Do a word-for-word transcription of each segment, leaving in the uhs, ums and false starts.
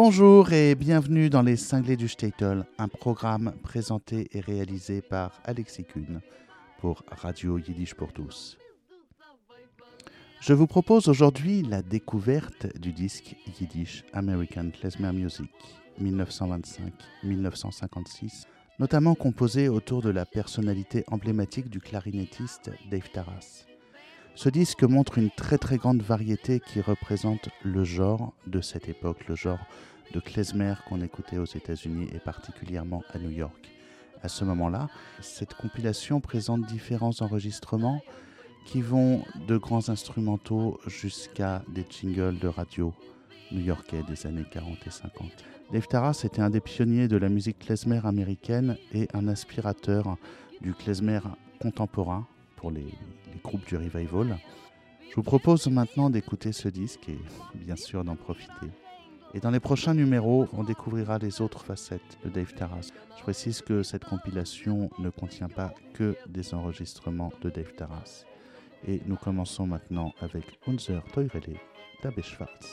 Bonjour et bienvenue dans Les Cinglés du Shtetl, un programme présenté et réalisé par Alexis Kuhn pour Radio Yiddish pour tous. Je vous propose aujourd'hui la découverte du disque Yiddish American Klezmer Music dix-neuf cent vingt-cinq à dix-neuf cent cinquante-six, notamment composé autour de la personnalité emblématique du clarinettiste Dave Tarras. Ce disque montre une très très grande variété qui représente le genre de cette époque, le genre de klezmer qu'on écoutait aux États-Unis et particulièrement à New York. À ce moment-là, cette compilation présente différents enregistrements qui vont de grands instrumentaux jusqu'à des jingles de radio new-yorkais des années quarante et cinquante. Dave Tarras était un des pionniers de la musique klezmer américaine et un aspirateur du klezmer contemporain pour les, les groupes du revival. Je vous propose maintenant d'écouter ce disque et bien sûr d'en profiter. Et dans les prochains numéros, on découvrira les autres facettes de Dave Tarras. Je précise que cette compilation ne contient pas que des enregistrements de Dave Tarras. Et nous commençons maintenant avec Unser Teurele d'Abbé Schwartz.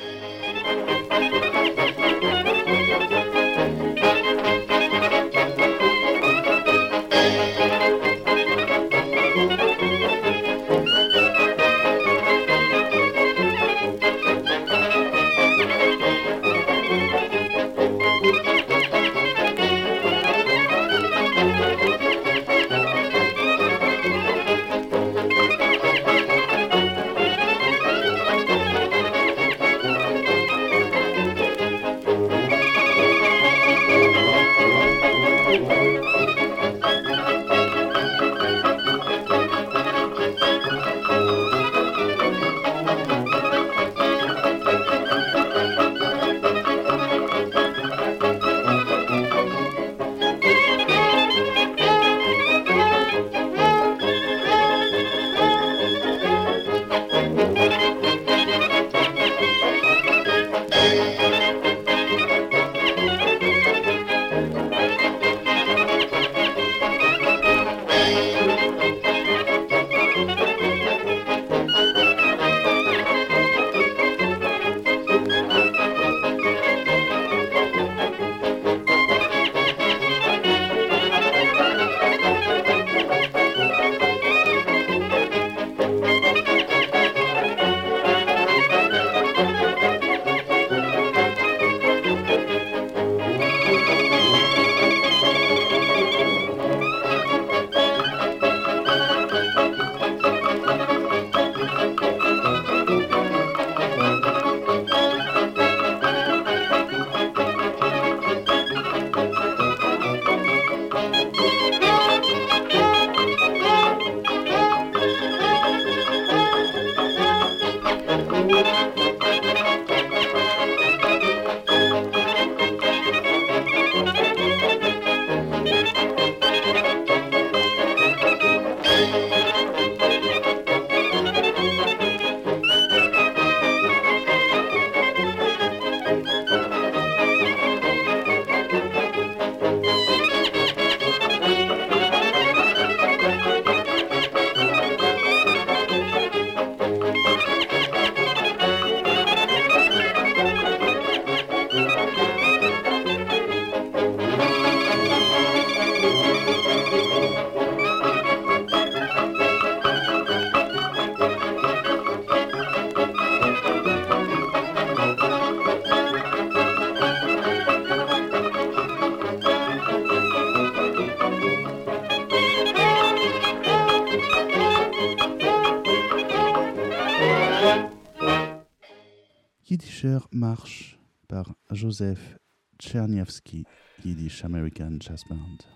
Yiddisher March par Joseph Czerniawski, Yiddish American Jazz Band.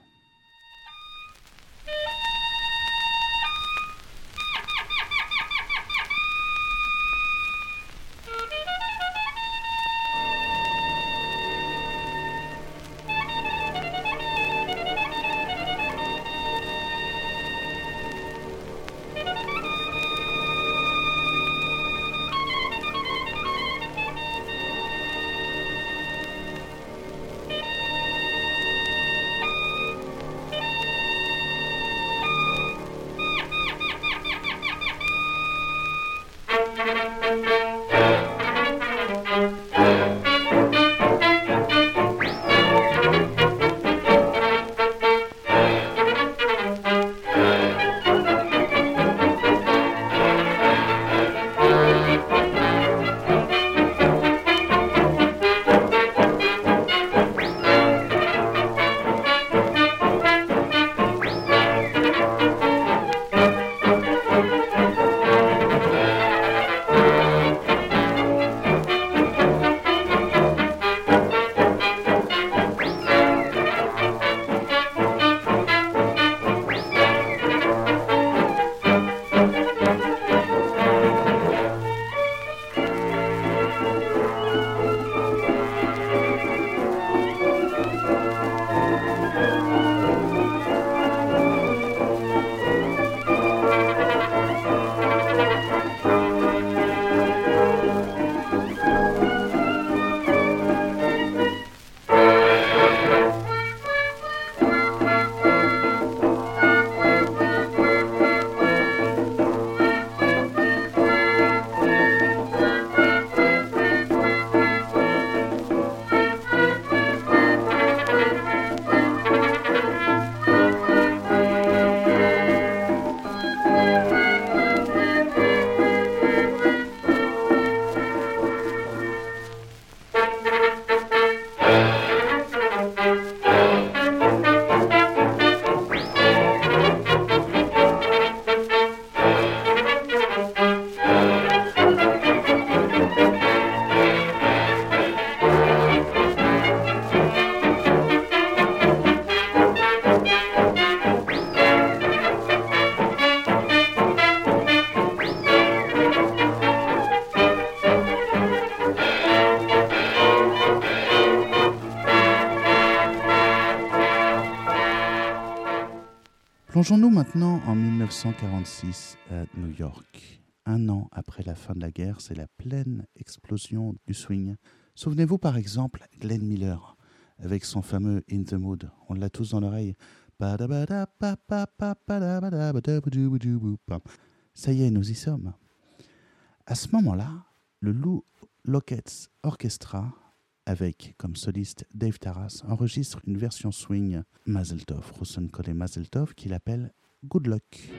Plongeons-nous maintenant en mille neuf cent quarante-six à New York. Un an après la fin de la guerre, c'est la pleine explosion du swing. Souvenez-vous par exemple Glenn Miller avec son fameux In the Mood. On l'a tous dans l'oreille. Ça y est, nous y sommes. À ce moment-là, le Lou Lockett's Orchestra, avec comme soliste Dave Taras, enregistre une version swing Mazel Tov, Rosenkohl et Mazel Tov, qu'il appelle Good Luck.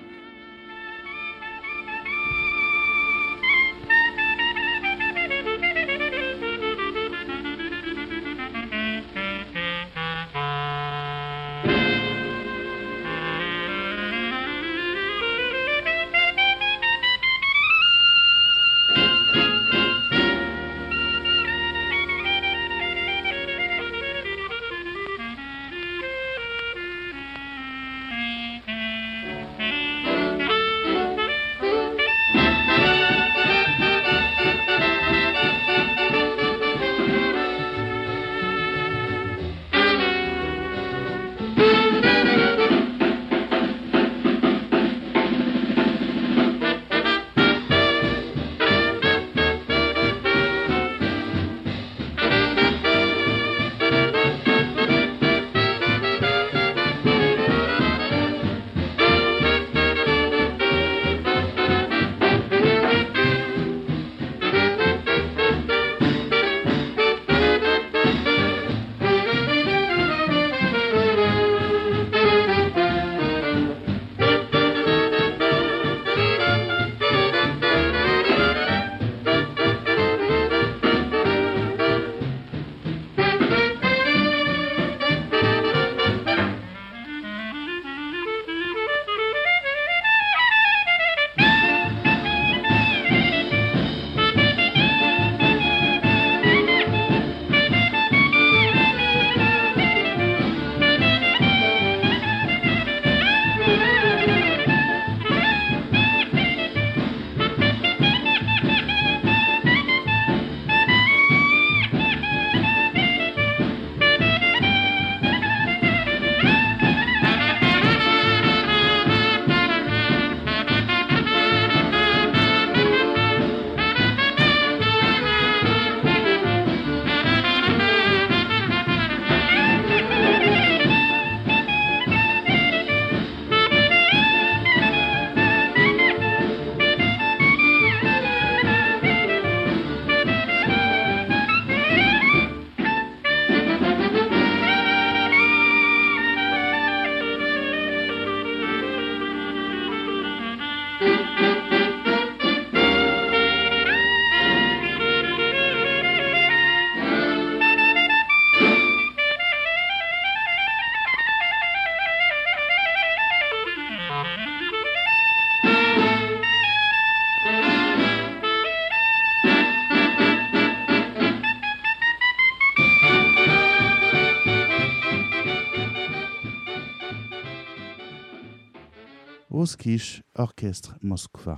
Ruskish Orchestre Moskva.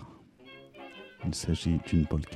Il s'agit d'une polka.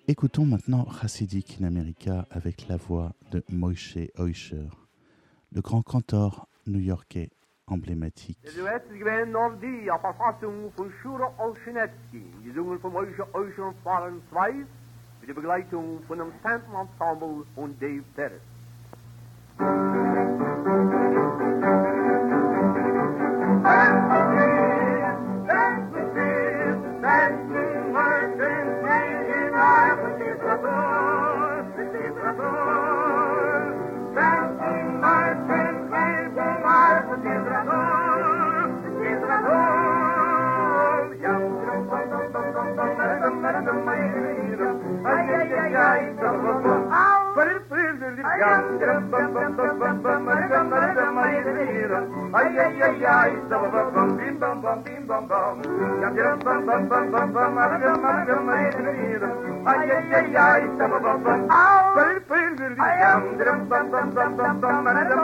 Écoutons maintenant Chassidik in America avec la voix de Moshe Oysher, le grand cantor new-yorkais emblématique. De wedstrijd gewinnen of die op Verfassung von Schura Olschinetsky, gesungen von Moshe Oysher und Florence Weiss, mit der Begleitung von dem Stanton Ensemble und Dave Terrace. Ay ay ay ay, bum bum bim bum bum bim bum bum. Bum bum bum bum bum bum, ay ay ay ay, bum bum bum. Bum bum bum bum bum bum,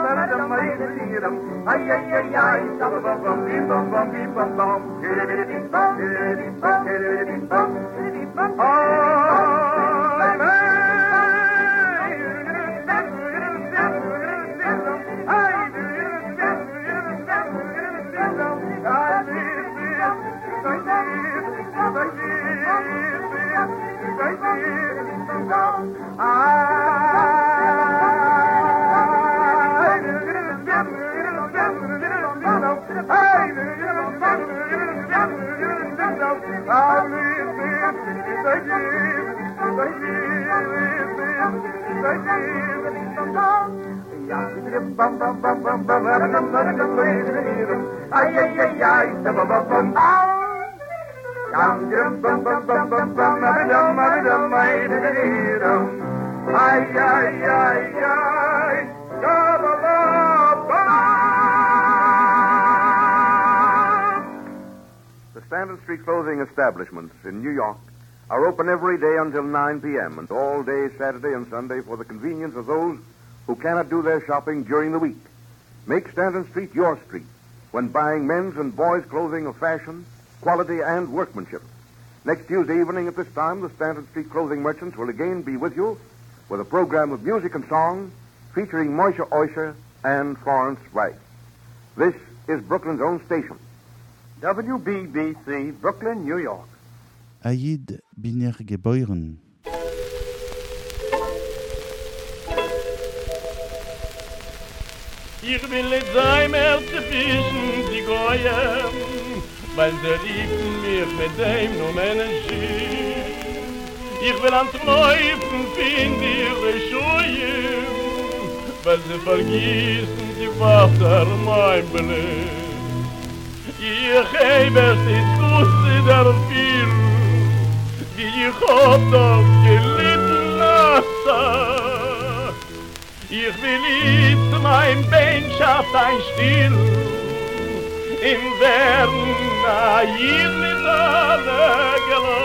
ay ay ay ay, bum bum bum bim bum bum bim bum bum. Ay ay ay ay, bum bum bum. Dum bum bum bum bum bum, dum dum ay ay ay ay, The Stanton Street clothing establishments in New York are open every day until nine p.m. and all day Saturday and Sunday for the convenience of those who cannot do their shopping during the week. Make Stanton Street your street when buying men's and boys' clothing of fashion, quality, and workmanship. Next Tuesday evening at this time, the Stanton Street clothing merchants will again be with you with a program of music and song featuring Moshe Oysher and Florence Weiss. This is Brooklyn's own station. W B B C, Brooklyn, New York. Aïd Biner geboren. Ich will nicht sein mehr zu fischen, die Goyen, weil sie liebten mich mit dem nur Menschen. Ich will ans Läufen finden ihre Schuhe, weil sie vergießen die Wasser mein Blut. Ich habe es nicht gewusst, der viel, wie ich hab das gelitten lassen. Ich will jetzt mein Bein schafft ein Stil, in Werden hier mit alle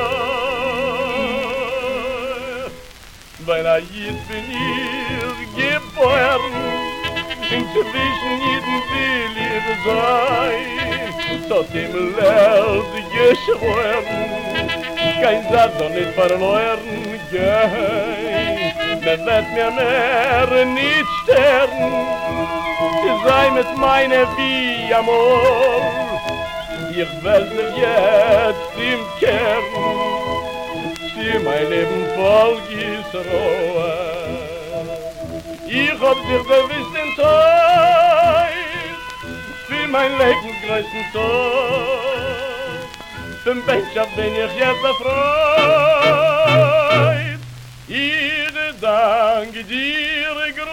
gelacht. Weil jetzt bin ich geboren, inzwischen jeden will ich sein, tot im Leld geschworen, kein Satz soll nicht verloren gehen. Man wird mir mehr nicht sterben, sie sei mit meiner wie Amor. Ich will dir jetzt im Kern, sie mein Leben voll Gisroa. Ich hab dir gewiss den Zeit, für mein Leben größten Tod. Für den Bänkschaft bin ich jetzt erfreut. Ich danke dir größere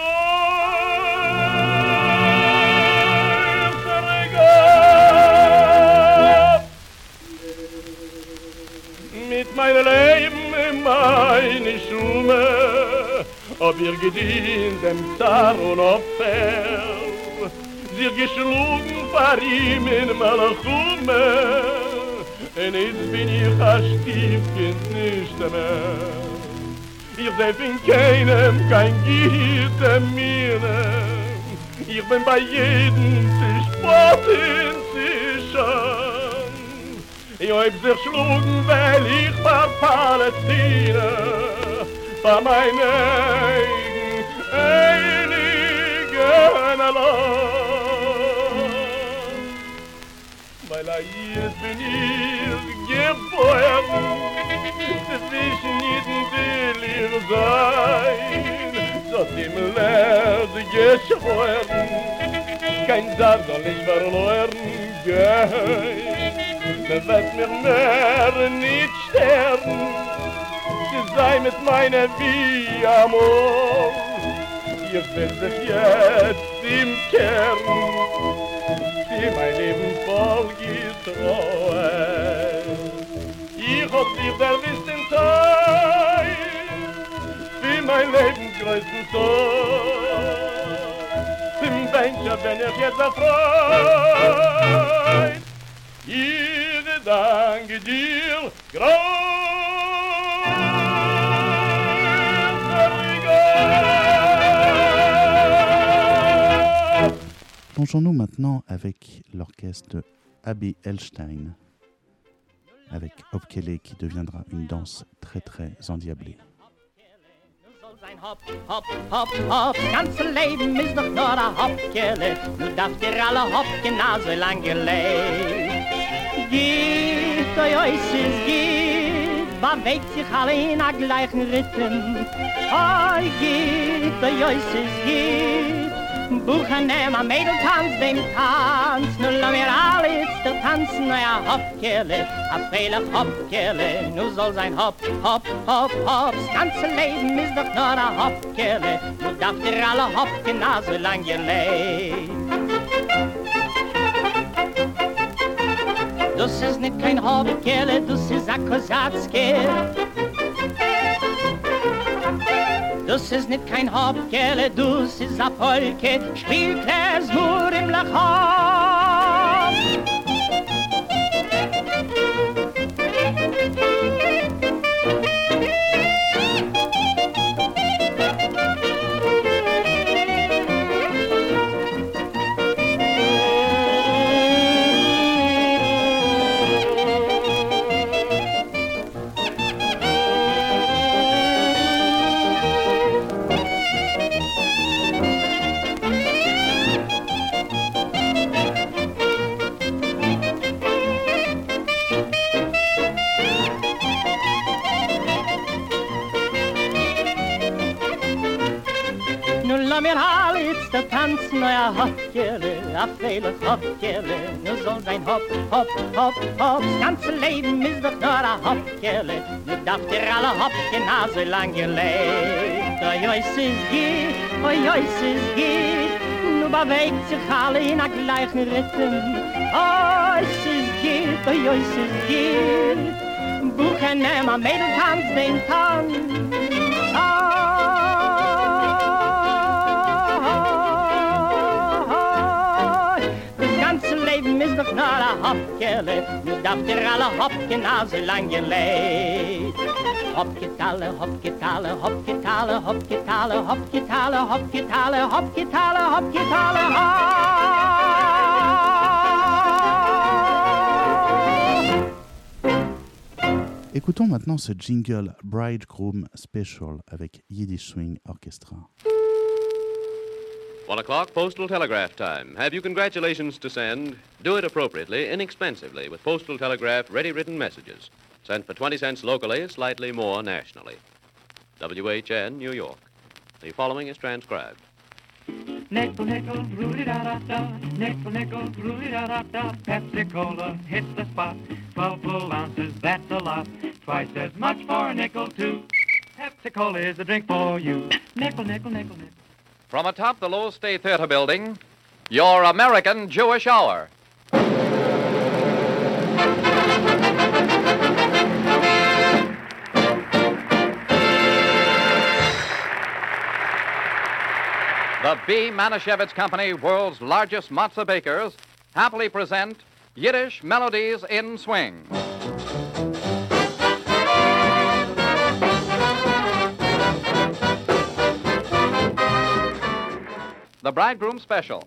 Gott. Mit meinem Leben in meine Schumme ob ihr gedient dem Zar und Opfer, sie geschlagen vor ihm in Malachume, und jetzt bin ich ein Stiefkind nicht mehr. Ich seh von keinem kein Gitter mir, ich bin bei jedem zu spotten, zu schon. Ich hab sich geschlagen, weil ich war Palästina, bei meinen einigen allein. Weil er jetzt bin ich geboren, zwischen jeden will ich sein, so dem Lerd geschworen, kein Tag soll ich verloren gehen. Man wird mir mehr nicht sterben, sie sei mit meiner wie Amor. Ich will sich jetzt im Kern, für mein Leben voll getreu. Ich hab dich der wissen Teil, für mein Leben größten Teil. Zum Bencher bin ich jetzt erfreut. Ich danke dir, Plongeons-nous maintenant avec l'orchestre de Abby Elstein, avec Hopkele qui deviendra une danse très très endiablée. Hop, hop, hop, hop, das ganze Leben ist doch nur ein Hopkele. Du darfst dir alle Hopken so lang gelebt. Geht, oi, oi, es ist geht, bewegt sich alle in der gleichen Rhythm. Oi, geht, oi, oi, es ist geht, Buchen nehm a Mädel tanz dem Tanz. Nu lass mir alle jetzt der tanzen, ja Hopkele, a freilich Hopkele. Nu soll sein Hop, Hop, Hop, Hop, das ganze Leben ist doch nur a Hopkele. Nu darfst dir alle Hopken so lang gelebt. Das ist nicht kein Hopkele, das ist a Kosatzke. Das ist nicht kein Hopkele, das ist a Polke, spielt es nur im Lachop. Mir alle jetzt der tanzen, ja Hopkele, a freilich Hopkele. Nu soll sein Hop, Hop, Hop, Hop, das ganze Leben ist doch nur a Hopkele. Nu darfst dir alle Hopken so lang gelebt. Oi, oi, es ist geht, oi, oi, es ist geht, nu bewegt sich alle in a gleichen Rhythm. Oi, es ist geht, oi, oi, es ist geht, Buchen nehm a Mädel tanz den Tanz. Ist doch nur a Hopkele, nu darfst dir alle Hopken so lang gelebt. Hopketale, Hopketale, Hopketale, Hopketale, Hopketale, Hopketale, Hopketale, Hopketale, Hop. Écoutons maintenant ce jingle Bridegroom Special avec Yiddish Swing Orchestra. One o'clock, postal telegraph time. Have you congratulations to send? Do it appropriately, inexpensively, with postal telegraph ready-written messages. Sent for twenty cents locally, slightly more nationally. W H N, New York. The following is transcribed. Nickel, nickel, roody-da-da-da. Nickel, nickel, roody-da-da-da. Pepsi-Cola hits the spot. Twelve full ounces, that's a lot. Twice as much for a nickel, too. Pepsi-Cola is the drink for you. Nickel, nickel, nickel, nickel. From atop the Lowell State Theater building, your American Jewish Hour. The B. Manischewitz Company, world's largest matzah bakers, happily present Yiddish Melodies in Swing. The Bridegroom Special.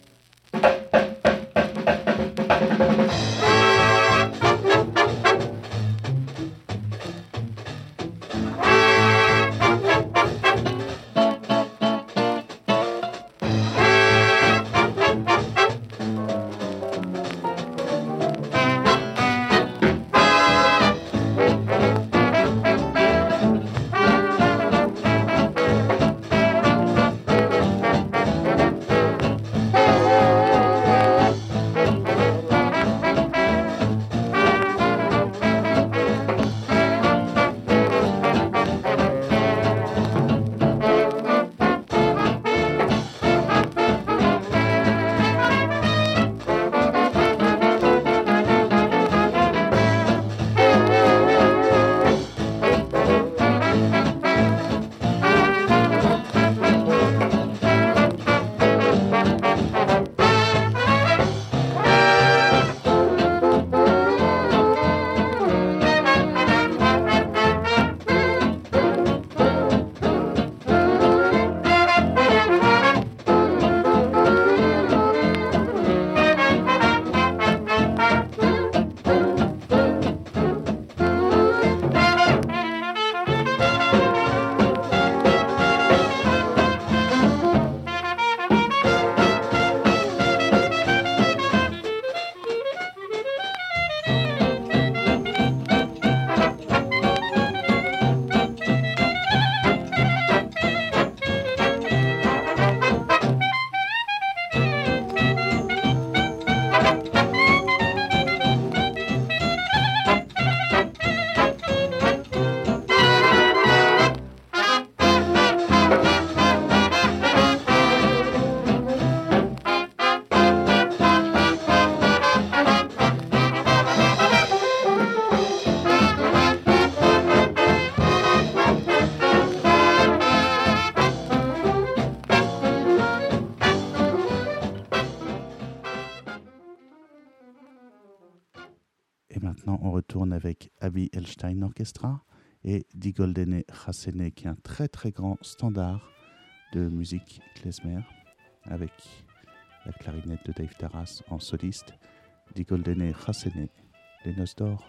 retourne avec Avi Elstein Orchestra et Die Goldene Chassene, qui est un très très grand standard de musique klezmer, avec la clarinette de Dave Taras en soliste. Die Goldene Chassene, les noces d'or.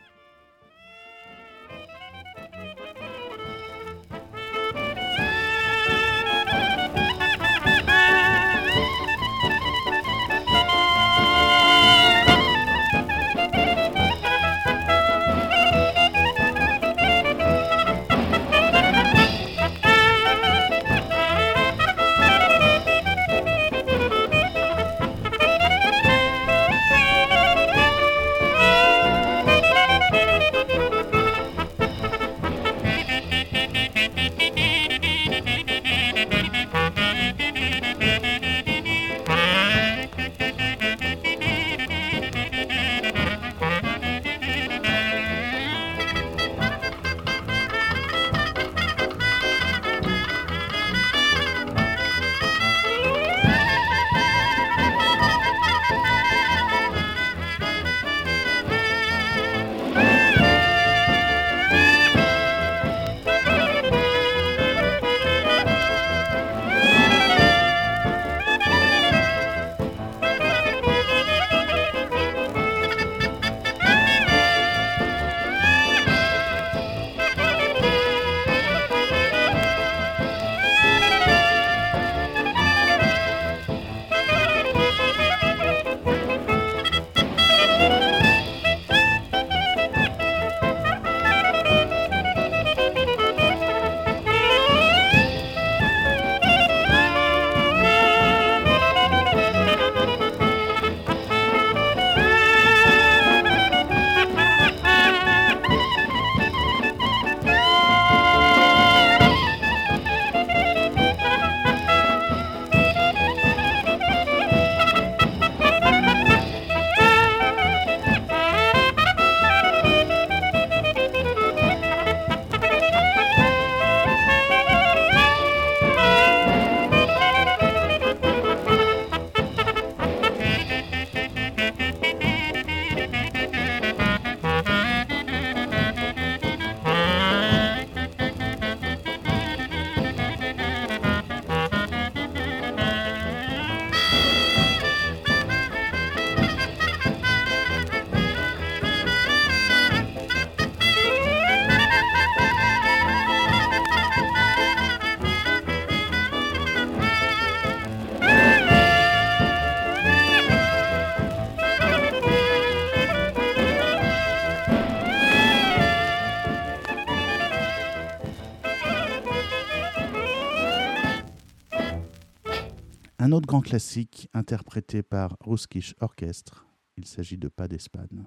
Un autre grand classique interprété par Ruskish Orchestre, il s'agit de Pas d'Espagne.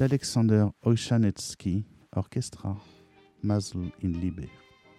d'Alexander Oyshanetsky, Orchestra, Masel in Liebe.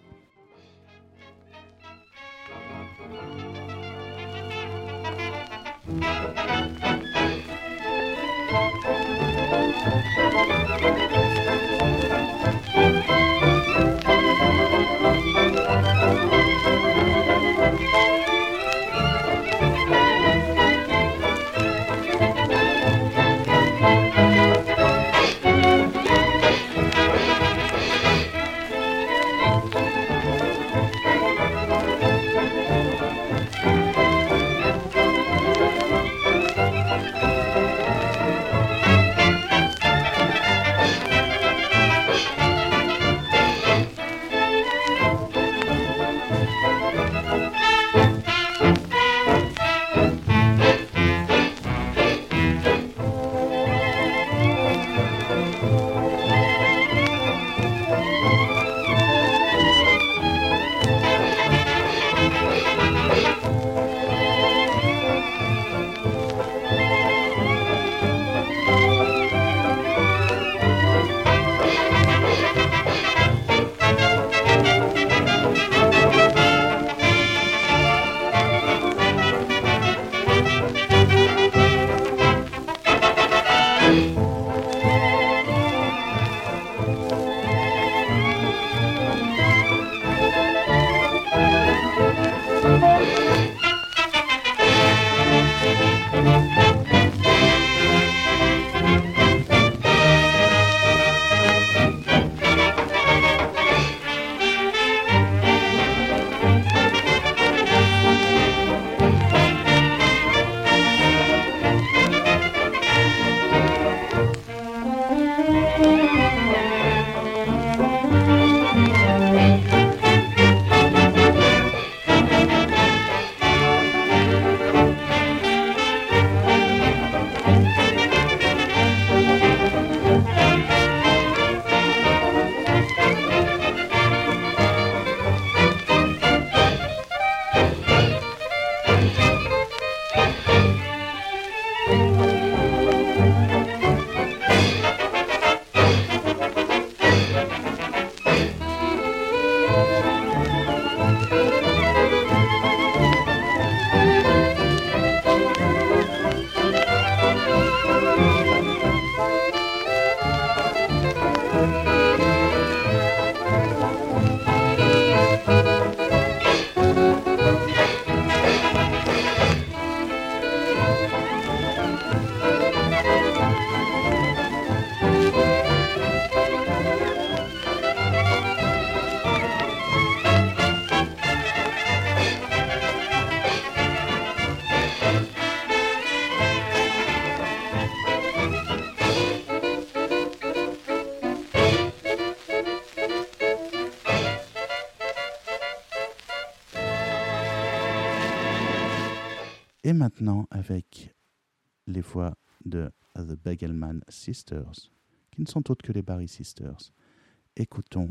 Et maintenant, avec les voix de The Begelman Sisters, qui ne sont autres que les Barry Sisters, écoutons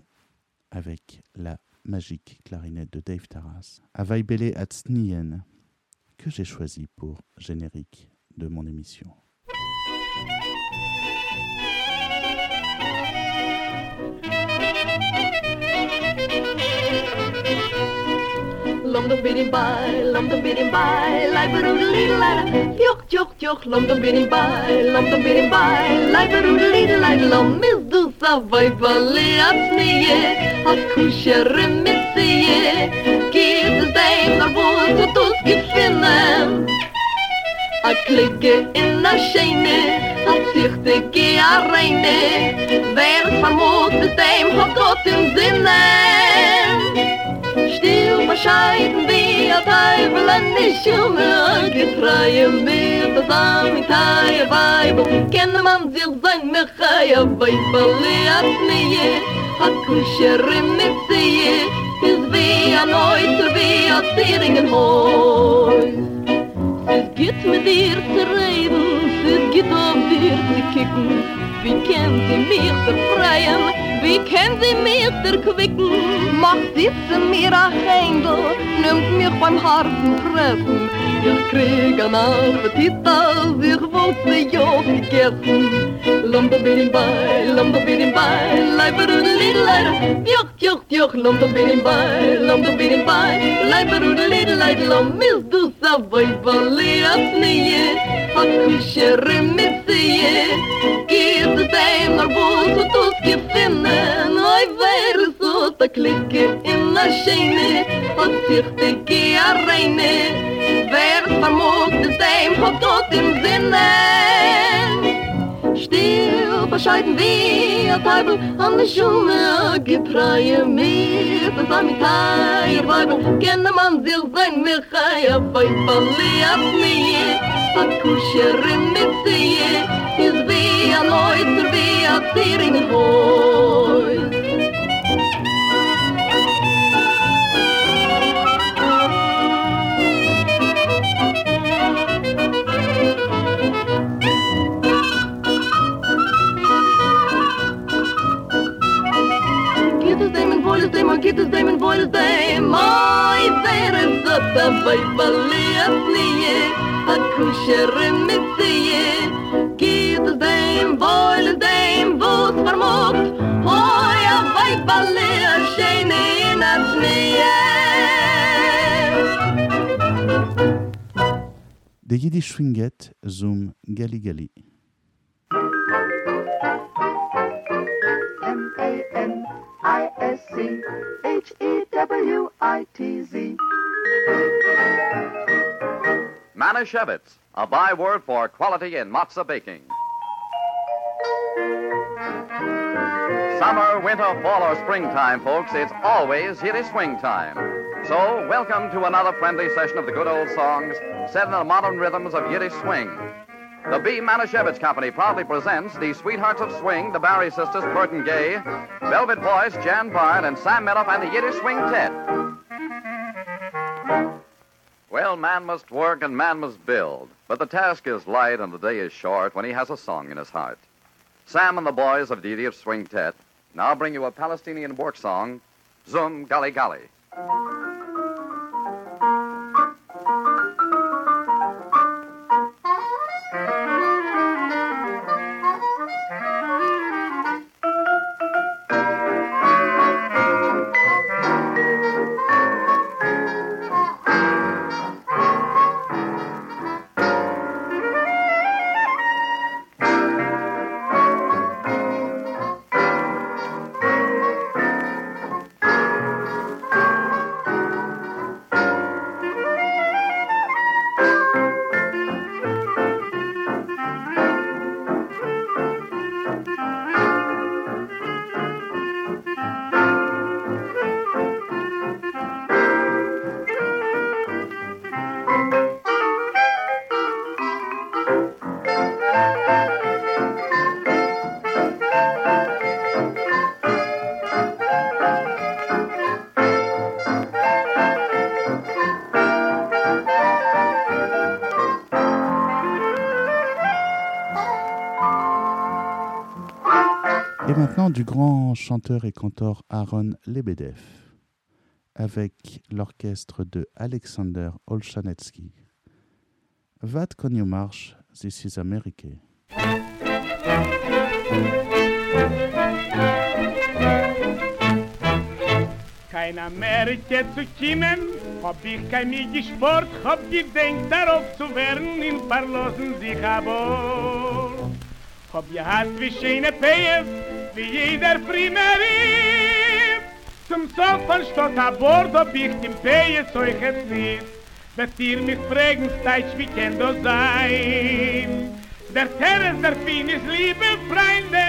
avec la magique clarinette de Dave Taras, Avaibele Atznien, que j'ai choisi pour générique de mon émission. Lom dum bidim by, lom dum bidim by, like a little lad. Yok yok yok, lom dum bidim by, lom dum bidim by, like a little lad. Lom is du sa vaibale atsnie, at kusher mitsie. Geht es dein naar voet, so tus gefinnen. A klicke in a scheine, at zichte ge a reine. Wer vermogt es dein, hat Gott im Sinne. Still bescheiden wie a Teufel an die Schumme, getreue mir das Amitaie Weibel, kenne man sich sein Mechaie Weibel, hat nie, hat Kuscherin mit sie, ist wie ein Neuzer, wie ein Zieringenhäus. Es geht mit dir zu reden, es geht auf dir zu kicken, wie kennt sie mich befreien, wie kennt sie mich erquicken? Macht sitzen mir a Händel, nimmt mich beim harten Treffen. Ich krieg an Appetit, als ich wollte ja gegessen. lum the bidding by, lum the bidding by, life a little lighter. Yuck, yuck, yuck, lum the bidding by, lum the bidding by, life a little lighter. Lum is do savoy volley up near, hot kusher remitsie. Give the same or bull to to skip in, and I very so to click in the shane, hot sichtige arene. Wer vermogt the same hot got in Sinne. Still bescheiden wie a Teufel an der Schumme getreue mit das Amitaier Weibel kenne man sich sein Michai a Weibali ab mir a Kuscherin mit sie is wie a Neuzer wie a Tier in Häus. Get his name and void his name. My there is the Bible a kusher in mitzie. Get his name, void his name, vos vermogt. Hoi a Bible a shane in a snee. De Yiddish Swinget zum Gali Gali. M A N I S C H E W I T Z. Manischewitz, a byword for quality in matzah baking. Summer, winter, fall, or springtime, folks, it's always Yiddish swing time. So, welcome to another friendly session of the good old songs set in the modern rhythms of Yiddish swing. The B. Manischewitz Company proudly presents the Sweethearts of Swing, the Barry Sisters, Bert and Gay, Velvet Voice, Jan Bard, and Sam Medoff, and the Yiddish Swing Tet. Well, man must work and man must build, but the task is light and the day is short when he has a song in his heart. Sam and the boys of the Yiddish Swing Tet now bring you a Palestinian work song, Zum Gali Gali. Et maintenant du grand chanteur et cantor Aaron Lebedev avec l'orchestre de Alexander Olshanetsky. Wat kon je marsch, this is America. Kein Amerika zu kommen, hab ich kein Sport, hab gedenkt darauf zu werden, in Verlosen sich aber. Hab gehad wie schöne Pees, wie jeder Primerie. Zum Song von Stott a Bord hab ich dem Pees euch es nicht. Wird ihr mich fragen, steigt, wie kann das sein? Der Terres, der Fin ist liebe Freunde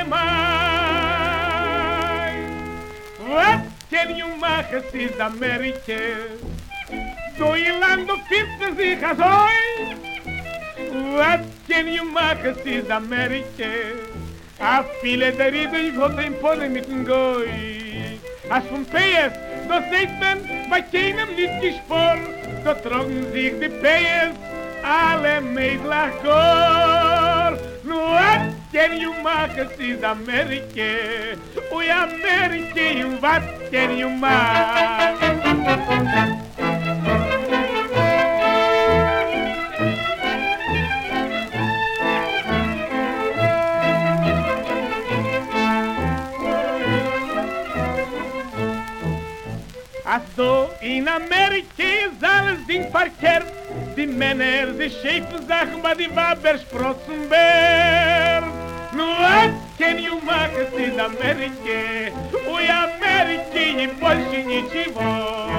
mein. What can you make, es ist Amerika? So ihr Land, du findest sich als euch. What can you make, es ist Amerika? A viele der Riede, ich wollte im Pode mit dem Goy. Als vom P S, das seht man bei keinem nicht gesport. So trocken sich die P S, alle Mädlach Chor. What can you make, es ist Amerika? Ui Amerika, what can you make? Als du in Amerika ist alles Ding verkehrt, die Männer, die schäfen Sachen, bei die Waber sprotzen Bär. Nur was kann you machen in Amerika? Ui, Amerika, in Polsche, nичего.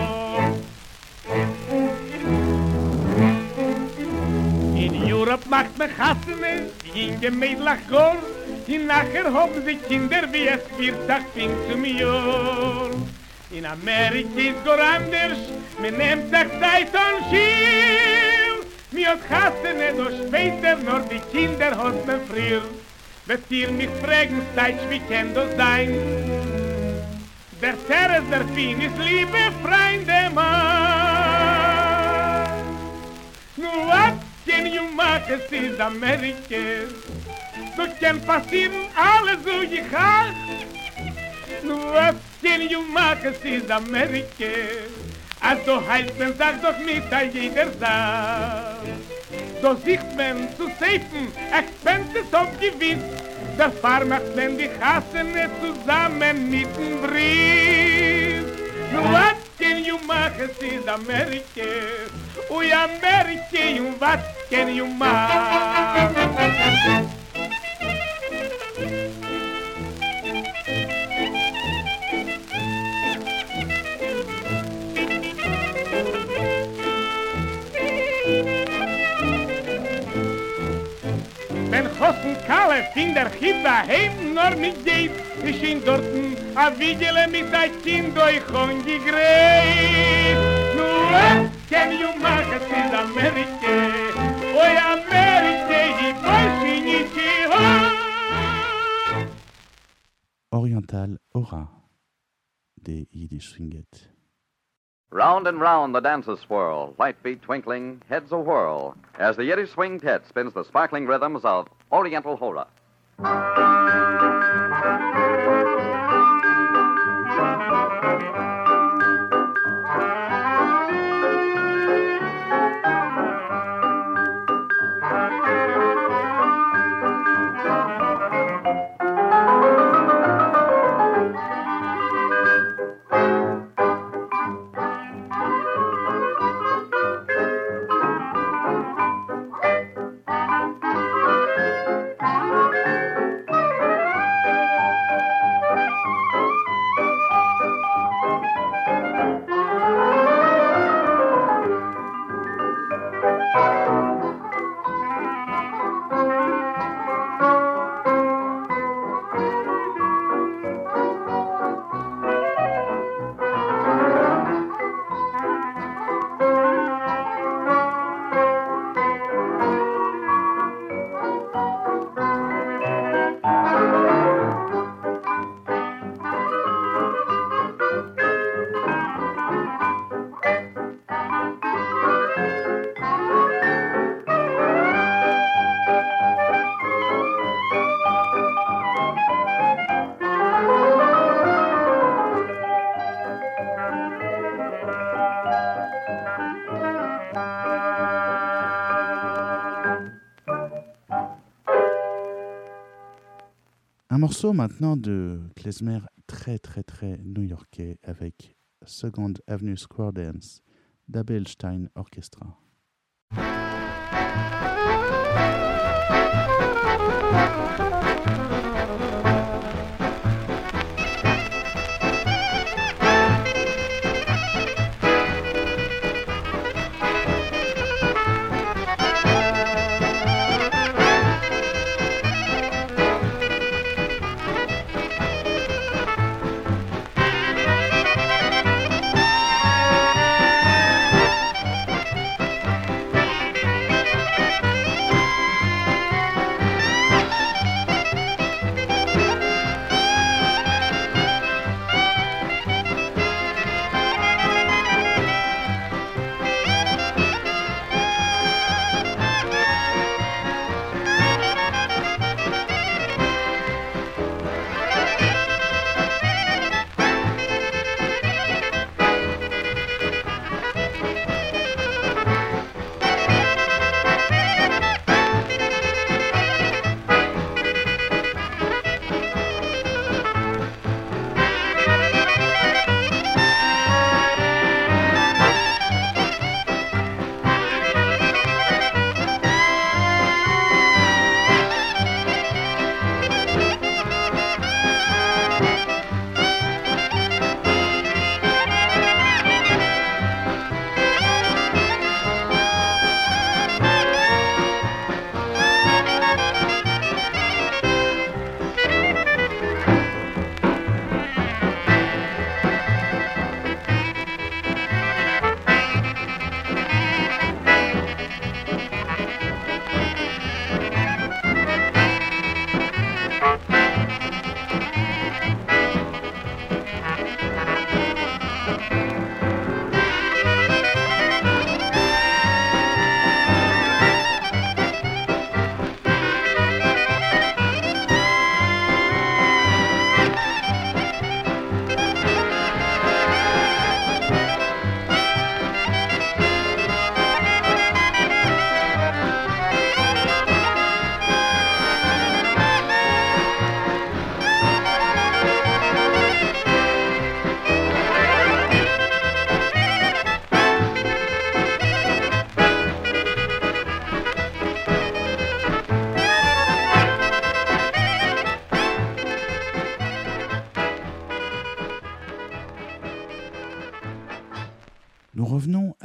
In Europe macht man Hassene, jinge Mädlach Gor, und nachher haben sie Kinder, wie es vierzig fing zum Jahr. In Amerika ist gar anders, man nimmt sich Zeit und Schiel. Mir hat Hassene, doch später, nur die Kinder hat man früher. Wenn ihr mich fragen, seid wie kann das sein? Der Terres der Fin ist liebe Freunde, Mann. Nur was can you machen, es ist Amerika. So kann passieren alles so gehach. Nur was can you machen, es ist Amerika. Also heißt man, sagt doch mit an jeder Sache. So sieht man zu safen, Expenses auf gewiss. Der Fahr macht man die Hassene zusammen mit dem Brief. Nur was can you machen, es ist Amerika. Ui, Amerika, und was can you machen? Wenn Hossen Kalle in der Chiba heim nur mit geht, ich in dorten a Vigele mit ein Kind durch Hongi greit. Nur was can you machen, es ist Amerika. Oi, Amerika, ich weiß nicht, Oriental Aura des Yiddish Swinget. Round and round the dancers swirl, light feet twinkling, heads a-whirl, as the Yiddish swing tet spins the sparkling rhythms of Oriental Hora. Un morceau maintenant de klezmer très très très new-yorkais avec Second Avenue Square Dance d'Abelstein Orchestra. Thank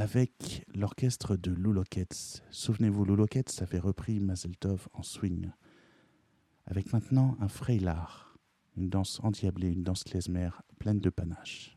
avec l'orchestre de Lou Locketts. Souvenez-vous, Lou Locketts avait repris Mazel Tov en swing. Avec maintenant un Freilach, une danse endiablée, une danse klezmer pleine de panache.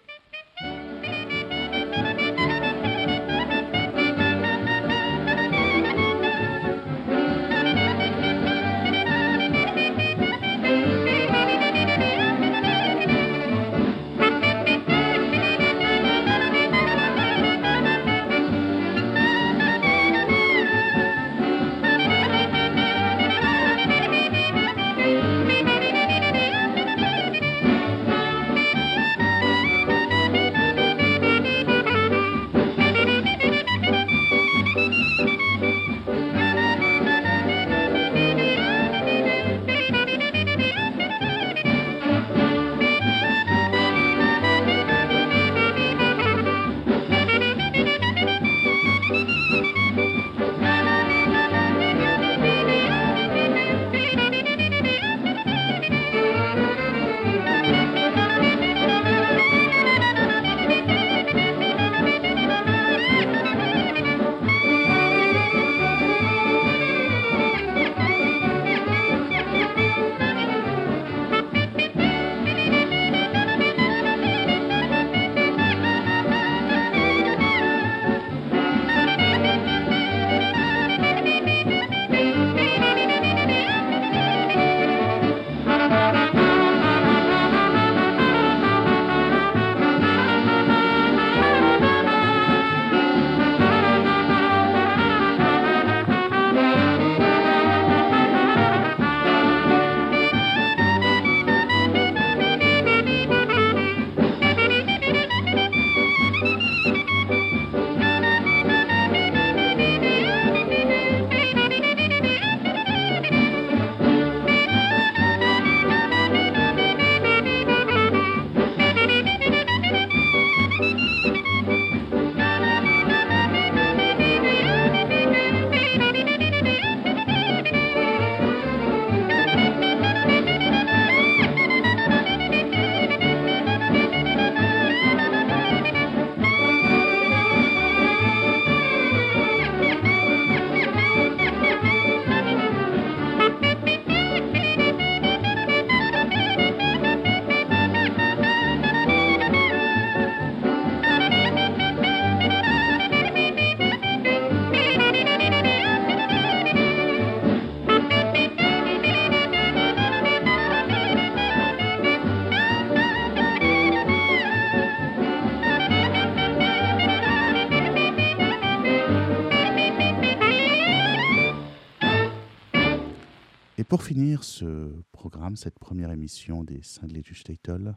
Pour finir ce programme, cette première émission des Cinglés du Shtetl,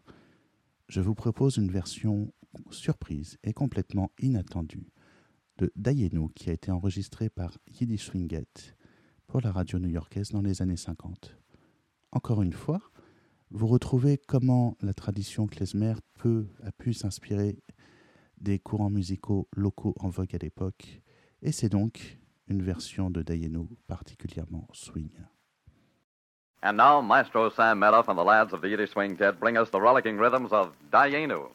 je vous propose une version surprise et complètement inattendue de Dayenu qui a été enregistrée par Yiddish Swinget pour la radio new-yorkaise dans les années cinquante. Encore une fois, vous retrouvez comment la tradition klezmer peut, a pu s'inspirer des courants musicaux locaux en vogue à l'époque, et c'est donc une version de Dayenu particulièrement swing. And now, Maestro Sam Medoff and the lads of the Yiddish Swing Tet bring us the rollicking rhythms of Dayenu.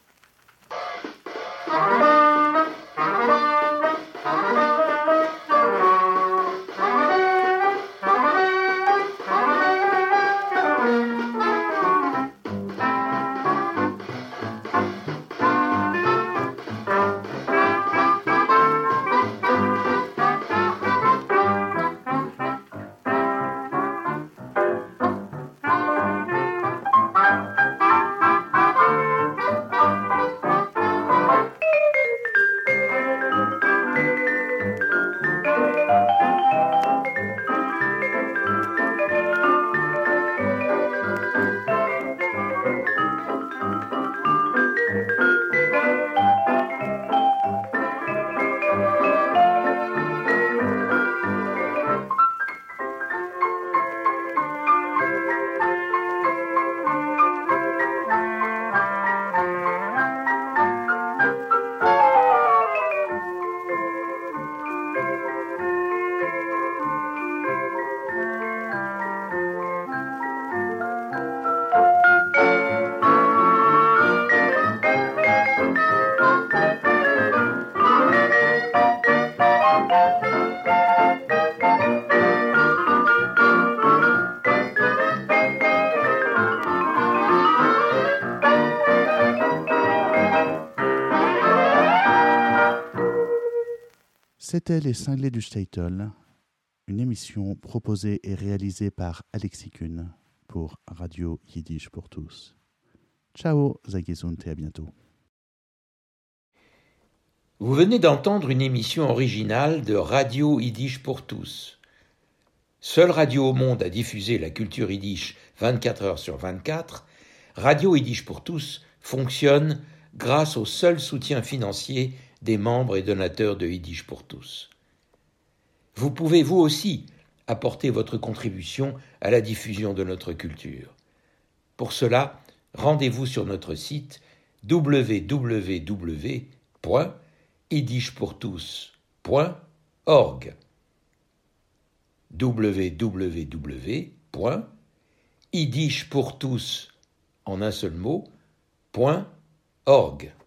C'était Les Cinglés du Statel, une émission proposée et réalisée par Alexis Kuhn pour Radio Yiddish pour tous. Ciao, Zagizunt et à bientôt. Vous venez d'entendre une émission originale de Radio Yiddish pour tous. Seule radio au monde à diffuser la culture yiddish vingt-quatre heures sur vingt-quatre, Radio Yiddish pour tous fonctionne grâce au seul soutien financier des membres et donateurs de Yiddish pour tous. Vous pouvez vous aussi apporter votre contribution à la diffusion de notre culture. Pour cela, rendez-vous sur notre site w w w point yiddish pour tous point org w w w point yiddish pour tous en un seul mot point org